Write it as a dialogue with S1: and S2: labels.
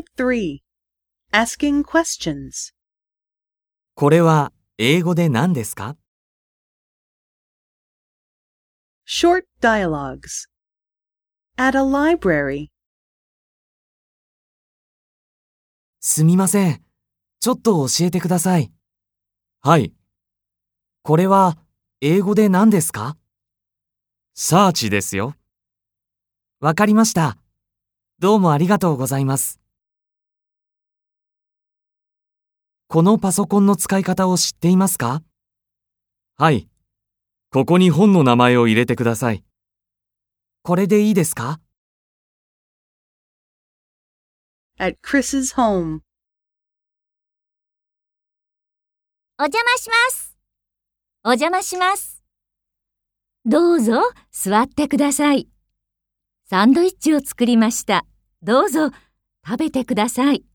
S1: Unit 3 Asking Questions
S2: これは英語で何ですか？
S1: Short Dialogues At a library
S2: すみません。ちょっと教えてください。はい。これは英語で何ですか？サーチですよ。わかりました。どうもありがとうございます。このパソコンの使い方を知っていますか？はい。ここに本の名前を入れてください。これでいいですか？
S1: At Chris's home
S3: お邪魔します。お邪魔します。どうぞ座ってください。サンドイッチを作りました。どうぞ食べてください。